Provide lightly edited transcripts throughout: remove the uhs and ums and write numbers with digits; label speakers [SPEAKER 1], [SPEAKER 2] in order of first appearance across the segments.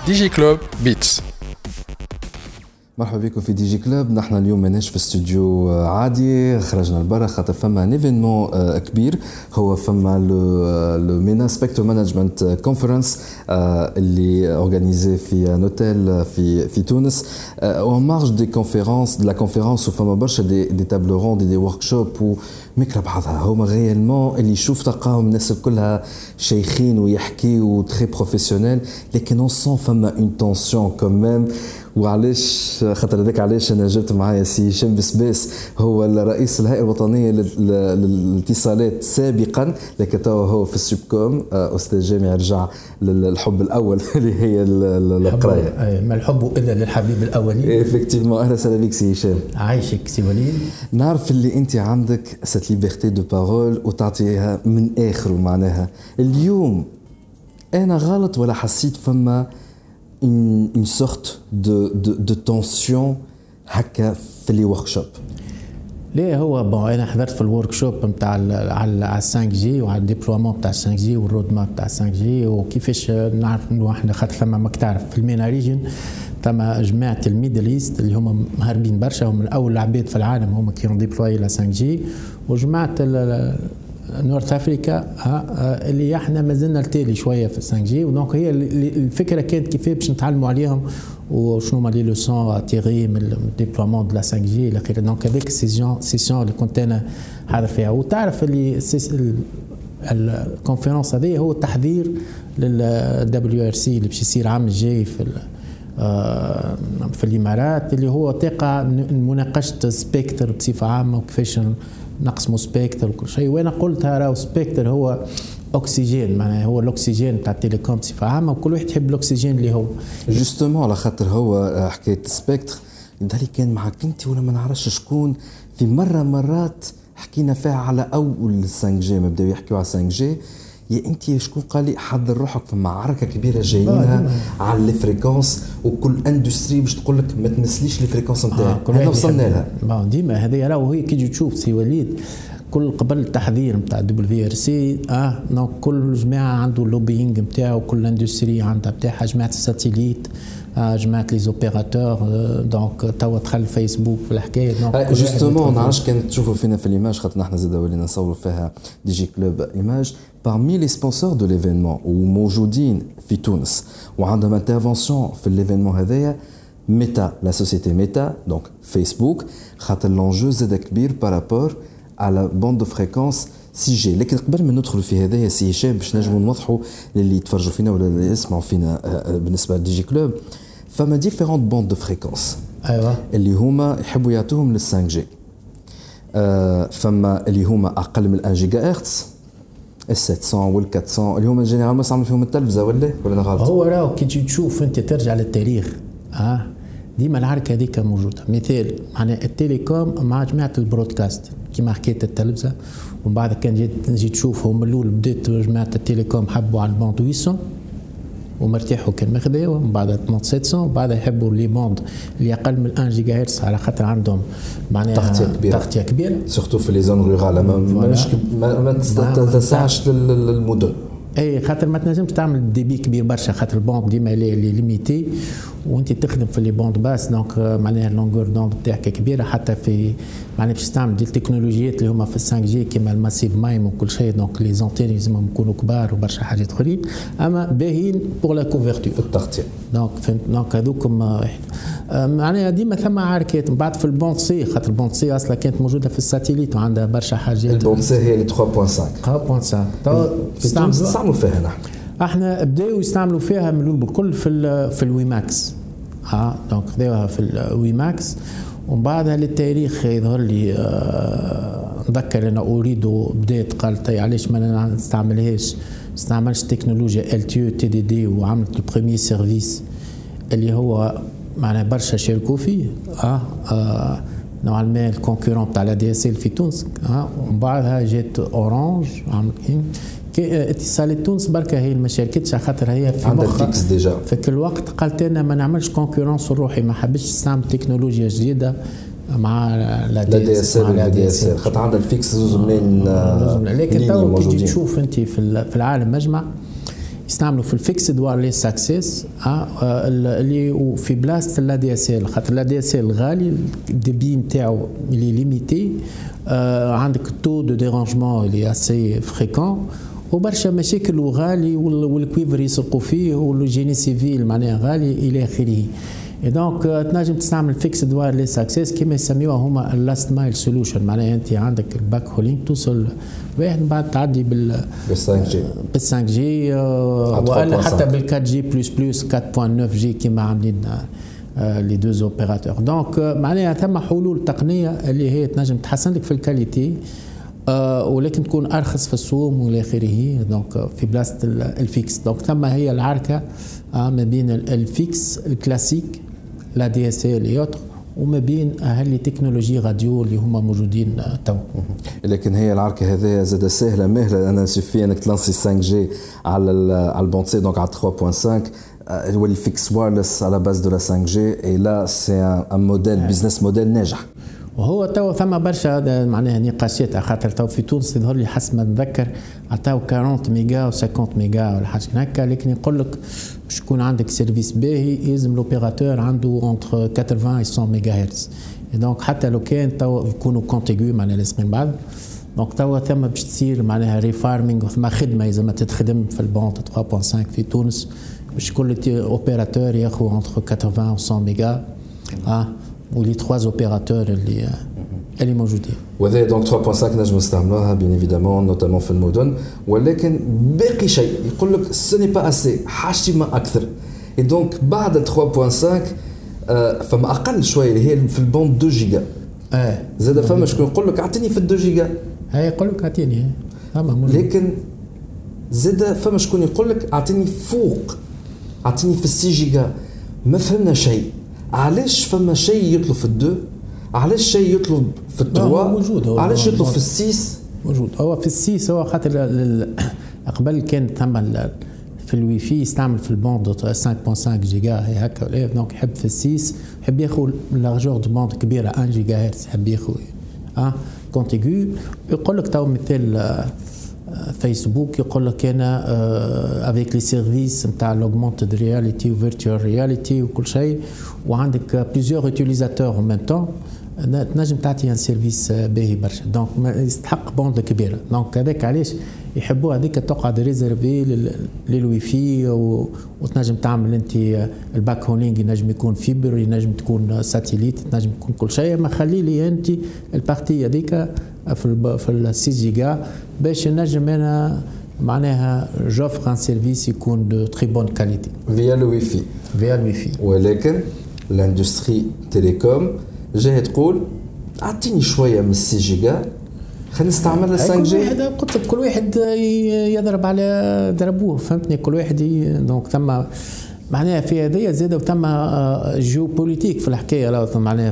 [SPEAKER 1] دي جي كلوب بيتس.
[SPEAKER 2] مرحبا بكم في دي جي كلوب. نحن اليوم ماناش في استوديو عادي، خرجنا لبرا خاطر فما نيفينمون كبير. هو فما لو مينا سبيكتر مانجمنت كونفرنس اللي اورغانيزي في نوتيل في تونس او مارج دي كونفيرونس دو لا كونفيرونس، وفما برشا دي تابل روند دي ورك شوب وميكرا بعضها. هما ريالمون اللي يشوف تلقاهم الناس كلها شيخين ويحكيوا تري بروفيسيونيل، لكن اون سون فما اون تونسيون كوميم. وعلاش خاطر هذاك علاش انا جبت معايا سي هشام بسباس، هو الرئيس الهيئه الوطنيه للاتصالات سابقا، لكن توا هو في السوبكوم استاذ جامعي. رجع للحب الاول اللي هي القرايه.
[SPEAKER 3] ما الحب الا للحبيب الاولي.
[SPEAKER 2] افكتيفمون. اهلا وسهلا بك سي هشام.
[SPEAKER 3] عايشك سي وليد.
[SPEAKER 2] نعرف اللي انت عندك سات ليبرتي دو بارول وتعطيها من اخر، معناها اليوم انا غلط ولا حسيت فما une sorte de tension هكا في لي ورك شوب؟
[SPEAKER 3] ليه هو بون انا حضرت في الورك شوب نتاع على 5 جي وعلى الديبلومون نتاع 5 جي والرود ماب نتاع 5 جي، وكيفاش نعرف انه احنا خاطر ثما ماك تعرف في المينا ريجن ثما جماعه الميدل ايست اللي هما مهربين برشا، هم من اول العباد في العالم هما كانوا ديبلوي ل 5 جي، وجماعه نورث افريكا اللي احنا مازلنا التالي شويه في 5 جي. ودونك هي الفكره كانت كيف باش نتعلموا عليهم وشنو هما لي لوسون تيغي من الديبلومون دو لا 5 جي الى اخره. دونك هذيك السيسيون اللي كنت انا حاضر فيها، وتعرف اللي الكونفرنس هذه هو التحضير للدبليو ار سي اللي باش يصير العام الجاي في الامارات، اللي هو تقع مناقشه سبيكتر بصفه عامه وكيفاش نقسموا سبيكتر وكل شيء. وانا قلتها راهو سبيكتر هو اكسجين، معناها هو الاكسجين تاع التليكوم بصفه عامه، وكل واحد يحب الاكسجين اللي هو
[SPEAKER 2] جوستومون. على خاطر هو حكايه سبيكتر يظهر كان معك انت ولا ما نعرفش شكون، في مرات حكينا فيها على اول 5 جي، ما بداو يحكيوا على 5 جي. يا انت شكون قال لي حضر روحك في معركه كبيره جايينها على الفريكونس، وكل اندستري باش تقول لك ما تنسليش الفريكونس نتاعك. احنا وصلنا لها
[SPEAKER 3] ديما هذه راهو هي كي تجي تشوف سي وليد كل قبل التحضير نتاع دبليو ار سي دونك كل جماعه عنده اللوبينغ نتاعو، كل اندستري عندها بتاعها، جماعه الساتيليت، جماعه لي زوبيراتور. دونك توا دخل فيسبوك في الحكايه. دونك
[SPEAKER 2] جوستومون نعرفش كان تشوفوا فينا في ليماج، خاطر نحن زاد ولينا نصوروا فيها دي جي كلوب ايماج. parmi les sponsors de l'événement وموجودين في تونس وعندهم انترفونسيون في الايفينمون هذايا ميتا، لا سوسيتي ميتا، دونك فيسبوك، خاطر لونجو زاد كبير بارابور على بوند دو فريكونس 6 جي. لكن قبل ما ندخلوا في هذايا سي هشام باش نجموا نوضحوا للي يتفرجوا فينا ولا اللي يسمعوا فينا بالنسبه لدي جي كلوب، فما ديفيرونت بوند دو فريكونس.
[SPEAKER 3] ايوه
[SPEAKER 2] اللي هما يحبوا يعطوهم لل 5 جي. فما اللي هما اقل من 1 جيجا هرتز، ال 700 وال 400 اللي هما جينيرالمون يستعملوا فيهم التلفزه، ولا انا غلط؟
[SPEAKER 3] هو راهو كي تشوف انت ترجع للتاريخ ديما الحركه هذيك موجوده. مثال معناها التليكوم مع جماعه البرودكاست كيما حكيت التلفزه، ومن بعد كان نجي تشوفهم من الاول بدات جماعه التليكوم حبوا على البوند 800 ومرتاحوا كان ماخذاوه، من بعد 700 وبعد يحبوا لي بوند اللي اقل من 1 جيجا هرتز على خاطر عندهم معناها تغطيه كبيره
[SPEAKER 2] سورتو في لي زون رورال ما تسعش للمدن.
[SPEAKER 3] اي خاطر ما تنجمش تعمل دي بي كبير برشا، خاطر البوند ديما لي ليميتي وانت تخدم في لي بوند باس. دونك معناها اللونغور دوند تاعك كبيره، حتى في معناها باش تستعمل دي التكنولوجيات اللي هما في 5 جي كيما الماسيف مايم وكل شيء. دونك لي زونتين لازمهم يكونوا كبار وبرشا حاجات اخرين، اما باهيين بور لا كوفرتور
[SPEAKER 2] في التغطيه.
[SPEAKER 3] دونك فهمت. دونك هذوكم معناها ديما ثم عركات. من بعد في البوند سي، خاطر البوند سي اصلا كانت موجوده في الساتيليت وعندها برشا حاجات.
[SPEAKER 2] البوند سي هي اللي 3.5 نستعملوا فيها نحن.
[SPEAKER 3] احنا بداوا يستعملوا فيها من الاول بالكل في الويماكس. دونك خذوها في الويماكس، ومن بعدها للتاريخ يظهر لي نذكر انا اريد بدات قالت علاش ما نستعملهاش، استعملش تكنولوجيا ال تي تي دي دي، وعملت البريمير سيرفيس اللي هو معناها برشا شاركوا فيه نوعا ما الكونكورون تاع لا دي اس ال في تونس. ومن بعدها جات اورانج عملت اتصالات تونس بركه هي ما شاركتش خاطر هي في
[SPEAKER 2] عندها فيكس ديجا
[SPEAKER 3] في كل وقت. قالت انا ما نعملش كونكورونس روحي، ما حبيتش نستعمل تكنولوجيا جديده مع لا دي اس ال
[SPEAKER 2] خاطر عندها الفيكس زوز منين.
[SPEAKER 3] لكن تو كي تشوف انت في العالم مجمع يستعملوا في الفيكسد وايرلس اكسس اللي في بلاصه لا دي اس ال، خاطر لا دي اس ال غالي، الديبي نتاعو اللي ليميتي، عندك التو دو ديرانجمون اللي اسي فريكون، وبرشا مشاكل وغالي، والكويفر يسرقوا فيه، والجيني سيفيل معناها غالي الى اخره. دونك تنجم تستعمل فيكسد وايرلس اكسس كما يسميوها هما اللاست مايل سوليوشن، معناها انت عندك الباك هولينج توصل واحد بعد تعدي بال 5 جي ولا حتى بال 4 جي بلس 4.9 جي كما عاملين لي دوز اوبيراتور. دونك معناها ثم حلول تقنيه اللي هي تنجم تحسن لك في الكاليتي، ولكن تكون ارخص في السوم والى اخره. دونك في بلاصه الفيكس، دونك ثم هي العركه ما بين الفيكس الكلاسيك لا دي اس ال ايوتر، وما بين هاللي تكنولوجي راديو اللي هما موجودين تو.
[SPEAKER 2] لكن هي العركه هذه زاد سهله مهله، انا سوفي انك تلانسي 5 جي على البونسي دونك على 3.5 هو الفيكس وايرلس على باز دو لا 5 جي، اي لا سي ان موديل بزنس موديل ناجح.
[SPEAKER 3] وهو تو ثم برشا معناها نقاشات، خاطر تو في تونس يظهر لي حسب ما نتذكر عطاو 40 ميجا و 50 ميجا ولا حاجه هكا، لكن يقول لك باش يكون عندك سيرفيس باهي يلزم لوبيراتور عنده اونتر 80 و 100 ميجا هرتز. دونك حتى لو كان تو يكونوا كونتيغو معناها لازمين بعض، دونك تو ثم باش تصير معناها ريفارمينغ، ثم خدمه لازم تتخدم في البونت 3.5 في تونس باش كل اوبيراتور ياخذ اونتر 80 و 100 ميجا ولي 3 اوبيراتور اللي موجودين.
[SPEAKER 2] وهذا دونك 3.5 نجم نستعملوها بين ايفيدامون نوتامون في المدن، ولكن باقي شيء يقول لك سوني با اسي، حاجتي ما اكثر. اي دونك بعد 3.5 فما اقل شويه اللي هي في البوند 2 جيجا. زاد فما شكون يقول لك اعطيني في 2 جيجا،
[SPEAKER 3] هاي يقول لك اعطيني،
[SPEAKER 2] لكن زاد فما شكون يقول لك اعطيني فوق، اعطيني في 6 جيجا. ما فهمنا شيء. علاش فما شيء يطلب في الدو، علاش شيء يطلب في التروا، علاش يطلب في السيس
[SPEAKER 3] موجود. هو في السيس هو خاطر قبل كان ثم في الواي فاي يستعمل في البوند 5.5 جيجا هي هكا، دونك يحب في السيس يحب ياخذ لارجور دو بوند كبيره 1 جيجا هرتز، يحب ياخذ كونتيغو. يقول لك تو مثال فيسبوك يقول لك انا افيك لي سيرفيس نتاع لوغمونتد رياليتي وفيرتوال رياليتي وكل شيء، وعندك بليزيور يوتيليزاتور ان ميم طون، تنجم تعطي ان سيرفيس باهي برشا. دونك يستحق بوند كبيره. دونك هذاك علاش يحبوا هذيك تقعد ريزيرفي للوي في، وتنجم تعمل انت الباك هولينج، ينجم يكون فيبر، ينجم تكون ساتيليت، تنجم تكون كل شيء. ما خلي لي انت البارتي هذيك في ال 6 جيجا باش نجم انا معناها جوفر ان سيرفيس يكون دو تري بون كاليتي
[SPEAKER 2] فيا الوي في. ولكن الاندستري تيليكوم جايه تقول اعطيني شويه من 6 جيجا خلينا نستعمل 5 جي.
[SPEAKER 3] قلت لك كل واحد يضرب على ضربوه، فهمتني؟ كل واحد دونك ثم معناها في هذه زاد ثم جيو بوليتيك في الحكايه، معناها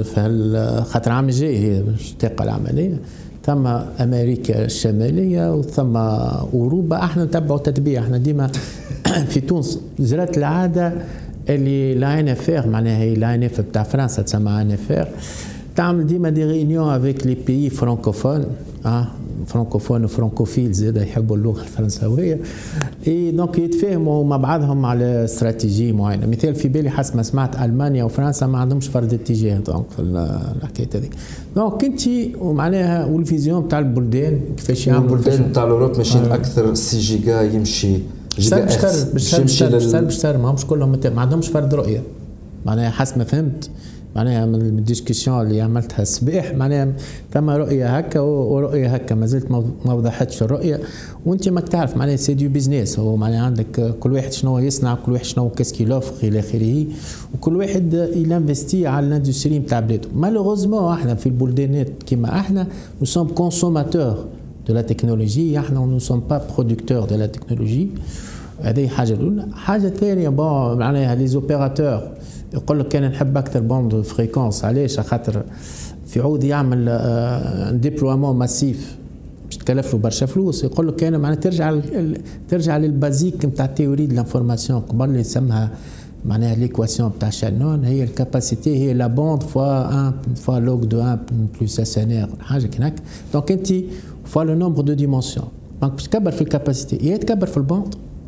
[SPEAKER 3] في خاطر عام جاي هي اشتاقه العمليه، ثم امريكا الشماليه وثم اوروبا. احنا نتبعوا تتبيع، احنا ديما في تونس جرت العاده اللي لا ان اف ار، معناها هي لا ان اف بتاع فرنسا تسمى ان اف ار، تعمل ديما دي ريونيون افيك لي بيي فرانكوفون، فرانكوفون وفرانكوفيل زاد يحبوا اللغه الفرنساويه، اي دونك يتفاهموا مع بعضهم على استراتيجيه معينه. مثال في بالي حسب ما سمعت المانيا وفرنسا ما عندهمش فرض اتجاه دونك في الحكايه هذيك. دونك انت ومعناها والفيزيون تاع البلدان كيفاش يعملوا
[SPEAKER 2] البلدان تاع الاوروب ماشيين اكثر 6 جيجا يمشي
[SPEAKER 3] باش ما همش كلهم ما عندهمش فرض رؤيه، معناها حسب ما فهمت معناها من الديسكسيون اللي عملتها الصباح، معناها ثم رؤيه هكا ورؤيه هكا، ما زلت ما وضحتش الرؤيه. وانت ماك تعرف معناها سي دو بيزنس، هو معناها عندك كل واحد شنو يصنع، كل واحد شنو كاسكي لوفر الى اخره، وكل واحد ينفستي على الاندستري نتاع بلاده. مالوغوزمون احنا في البلدانات كيما احنا نو سوم كونسوماتور دو لا تكنولوجي، احنا نو سوم با برودكتور دو لا تكنولوجي. هذه حاجه الاولى. حاجه ثانيه بون معناها لي زوبيراتور يقول لك انا نحب اكثر بوند فريكونس، علاش؟ خاطر في عود يعمل ديبلوامون ماسيف باش تكلف له برشا فلوس. يقول لك انا معناها ترجع للبازيك نتاع التيوري دو لانفورماسيون قبل اللي يسمها معناها ليكواسيون تاع شانون، هي الكاباسيتي هي لا بوند فوا 1 فوا لوغ دو 1 بلس اس ان ار حاجه كي هكا. دونك انت فوا لو نومبر دو ديمونسيون، دونك باش تكبر في الكاباسيتي يا تكبر في البوند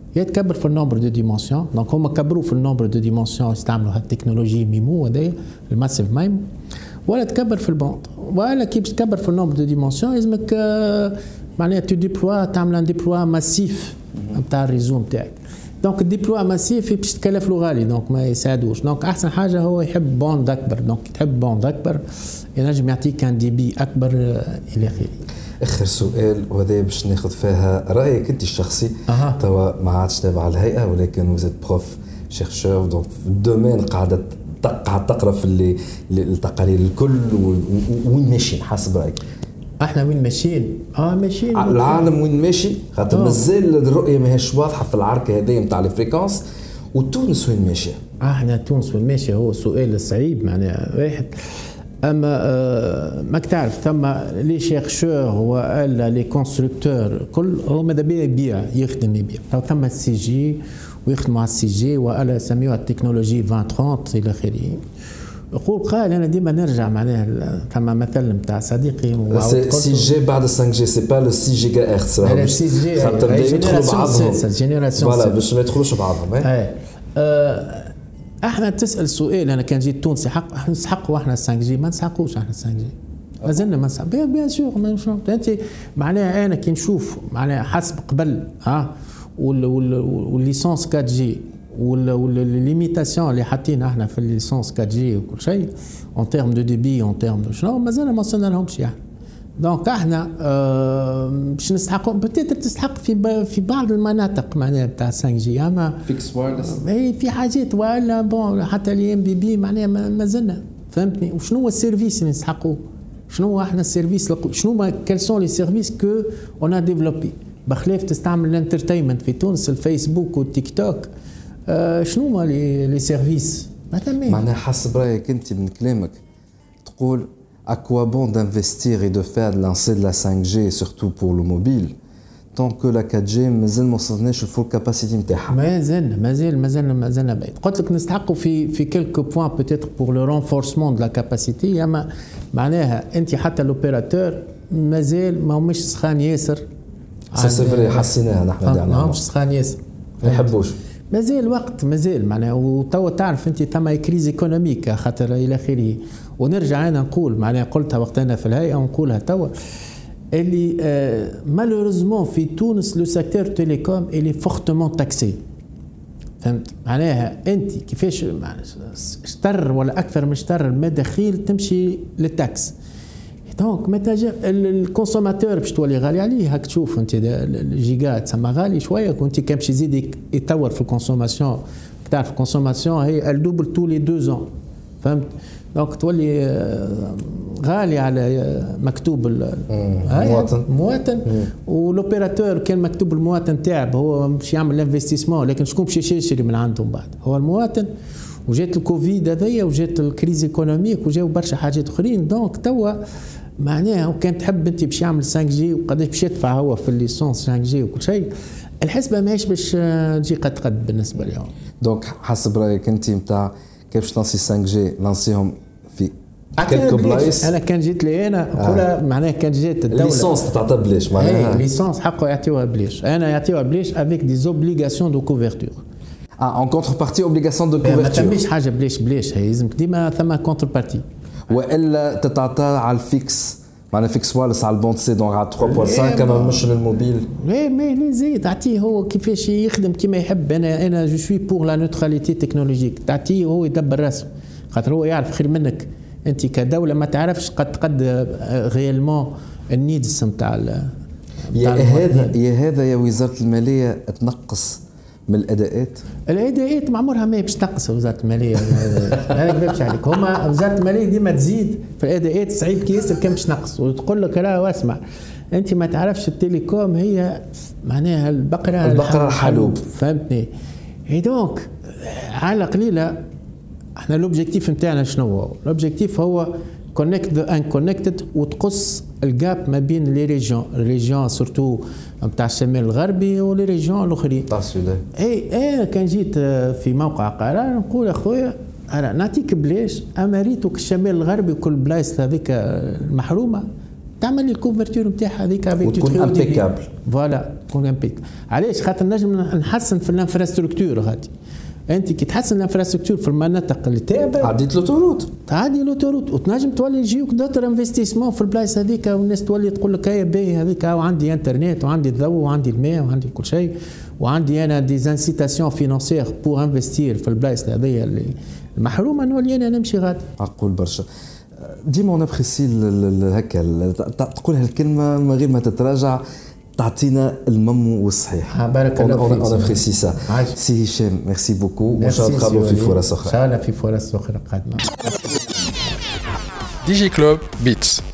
[SPEAKER 3] يا تكبر في النومبر دو ديمونسيون. دونك هما كبروا في النومبر دو ديمونسيون يستعملوا هالتكنولوجي ميمو هذايا الماسيف مايمو، ولا تكبر في البوند. ولا كي باش تكبر في النومبر دو ديمونسيون لازمك معناها تو ديبلوا تعمل ان ديبلوا ماسيف نتاع الريزو نتاعك. دونك الديبلوا ماسيف باش تكلف له غالي، دونك ما يساعدوش. دونك احسن حاجه هو يحب بوند اكبر. دونك تحب بوند اكبر ينجم يعطيك ان دي بي اكبر الى اخره.
[SPEAKER 2] اخر سؤال وهذا باش ناخذ فيها رايك انت الشخصي. توا ما عادش تابع الهيئه ولكن وزيت بروف شيرشور دونك في الدومين قاعده تقرا في التقارير الكل وين ماشيين حسب رايك؟
[SPEAKER 3] احنا وين ماشيين؟ ماشيين
[SPEAKER 2] العالم وين ماشي؟ خاطر مازال الرؤيه ماهيش واضحه في العركه هذه نتاع الفريكونس. وتونس وين ماشيه؟
[SPEAKER 3] احنا تونس وين ماشيه هو سؤال صعيب معناها واحد. اما ماك تعرف ثم لي شيرشور ولا لي كونستركتور كل هو ماذا بيه يبيع يخدم يبيع. ثم السي جي ويخدموا على السي جي ولا يسميوها التكنولوجي 2030 الى اخره. يقول قال انا ديما نرجع معناها ثم مثل نتاع صديقي
[SPEAKER 2] سي جي بعد 5 جي سي با لو 6 جيجا هرتز
[SPEAKER 3] لا سي جي
[SPEAKER 2] خاطر يدخلوا بعضهم
[SPEAKER 3] جينيراسيون
[SPEAKER 2] فوالا باش ما يدخلوش بعضهم.
[SPEAKER 3] احنا تسال سؤال انا كان جيت تونسي حق نسحقوا احنا 5 جي ما نسحقوش احنا 5 جي مازلنا ما نسحق بيان سور. انت معناها انا كي نشوف معناها حسب قبل والليسونس 4 جي والليميتاسيون اللي حاطين احنا في الليسونس 4 جي وكل شيء اون تيرم دو ديبي اون تيرم دو شنو مازال ما وصلنا لهمش يعني. دونك احنا باش نستحقوا بتقدر تستحق في بعض المناطق معناها بتاع 5 جي اما
[SPEAKER 2] فيكس وايرلس
[SPEAKER 3] في حاجات ولا بون حتى لي ام بي بي معناها مازلنا فهمتني. وشنو هو السيرفيس اللي نستحقوه؟ شنو هو احنا السيرفيس شنو ما كال سون لي سيرفيس كو اون ا ديفلوبي بخلاف تستعمل الانترتينمنت في تونس الفيسبوك والتيك توك. شنو هما لي سيرفيس
[SPEAKER 2] معناها حسب رايك انت من كلامك تقول à quoi bon d'investir et de faire de lancer de la 5G surtout pour le mobile tant que la 4G مازال ما وصلناش الفول كاباسيتي نتاعها.
[SPEAKER 3] مازلنا بعيد. قلت لك نستحقوا في كيلكو بوين بوتيتر بور لو رونفورسمون دو لا كاباسيتي اما معناها انت حتى لوبيراتور مازال ما همش سخان ياسر.
[SPEAKER 2] سي فري حسيناها نحن
[SPEAKER 3] ما همش سخان ياسر
[SPEAKER 2] ما يحبوش
[SPEAKER 3] مازال وقت مازال معناها. وتوا تعرف انت ثم كريز ايكونوميك خاطر الى اخره. ونرجع انا نقول معناها قلتها وقتنا في الهيئه ونقولها توا اللي مالوريزمون في تونس لو سيكتور تيليكوم اللي فورتمون تاكسي. فهمت معناها انت كيفاش اشتر ولا اكثر من اشتر المداخيل تمشي للتاكس. دونك متى الكونسوماتور باش تولي غالي عليه. هاك تشوف انت الجيجا تسمى غالي شويه وانت كان باش يزيد يتطور في الكونسوماسيون. تعرف الكونسوماسيون هي الدوبل تو لي 2 ans فهمت. دونك تولي غالي على مكتوب المواطن ولوبيراتور كان مكتوب المواطن تاعب هو باش يعمل الانفستيسمون لكن شكون باش يشري من عندهم بعد هو المواطن. وجات الكوفيد هذيا وجات الكريز ايكونوميك وجاو برشا حاجات اخرين. دونك توا معناها وكان تحب انت باش يعمل 5 جي وقداش باش يدفع هو في الليسونس 5 جي وكل شيء الحسبه ماهيش باش تجي قد بالنسبه لهم.
[SPEAKER 2] دونك حسب رايك انت نتاع كيف باش لانسي 5 جي لانسيهم في كلكو بلايص.
[SPEAKER 3] انا كان جيت لي انا نقولها معناها كان جات الدوله
[SPEAKER 2] الليسونس تعطى بلاش معناها
[SPEAKER 3] الليسونس حقه يعطيوها بلاش. انا يعطيوها بلاش افيك دي زوبليغاسيون دو كوفرتور
[SPEAKER 2] en contrepartie obligation de couverture.
[SPEAKER 3] ما تمش حاجه بلاش هي لازمك ديما ثم كونتربارتي
[SPEAKER 2] والا تتعطى على الفيكس معناها فيكس وايرلس على البوند سي دونك على 3.5 كما مش للموبيل.
[SPEAKER 3] مي زيد تعطيه هو كيفاش يخدم كيما يحب. انا جو سوي بور لا نوتراليتي تكنولوجيك تعطيه هو يدبر راسه خاطر هو يعرف خير منك. انت كدوله ما تعرفش قد ريالمون النيدز نتاع
[SPEAKER 2] هذا يا وزاره الماليه تنقص من الاداءات
[SPEAKER 3] ما عمرها ما باش تنقص وزاره الماليه. انا كذبش عليك هما وزاره الماليه ديما تزيد في الاداءات صعيب كي ياسر كان باش تنقص وتقول لك راه واسمع انت ما تعرفش التليكوم هي معناها البقره الحلوب فهمتني. اي دونك على قليله احنا لوبجيكتيف نتاعنا شنو هو؟ لوبجيكتيف هو كونكت ذا ان كونكتد وتقص الجاب ما بين لي ريجيون سورتو نتاع الشمال الغربي ولي ريجيون الاخرين
[SPEAKER 2] تاع السودان.
[SPEAKER 3] انا كان جيت في موقع قرار نقول اخويا انا نعطيك بلاش اما ريتك الشمال الغربي وكل بلايص هذيك المحرومه تعمل لي الكوفرتور نتاعها هذيك
[SPEAKER 2] وتكون امبيكابل.
[SPEAKER 3] فوالا تكون امبيكابل. علاش؟ خاطر نجم نحسن في الانفراستركتور هذه. انت كي تحسن الانفراستركتور في المناطق اللي تابعه
[SPEAKER 2] عديت لوتوروت،
[SPEAKER 3] تعدي لوتوروت، وتنجم تولي يجيوك دوتر انفستيسمون في البلايص هذيك، والناس تولي تقول لك هيا باهي هذيك وعندي انترنت وعندي الضوء وعندي الماء وعندي كل شيء، وعندي انا دي انسيتاسيون فينانسيير بور انفستير في البلايص هذيا اللي المحرومه، نولي انا نمشي غادي.
[SPEAKER 2] عقول برشا. ديما نابريسي هكا تقول هالكلمه من غير ما تتراجع، تعطينا المم والصحيح.
[SPEAKER 3] بارك الله فيك.
[SPEAKER 2] انا ابريسي سا. سي هشام ميرسي بوكو، وان شاء الله نتقابلوا في فرص اخرى.
[SPEAKER 3] ان شاء الله في فرص اخرى قادمه.
[SPEAKER 1] دي جي كلوب بيتس.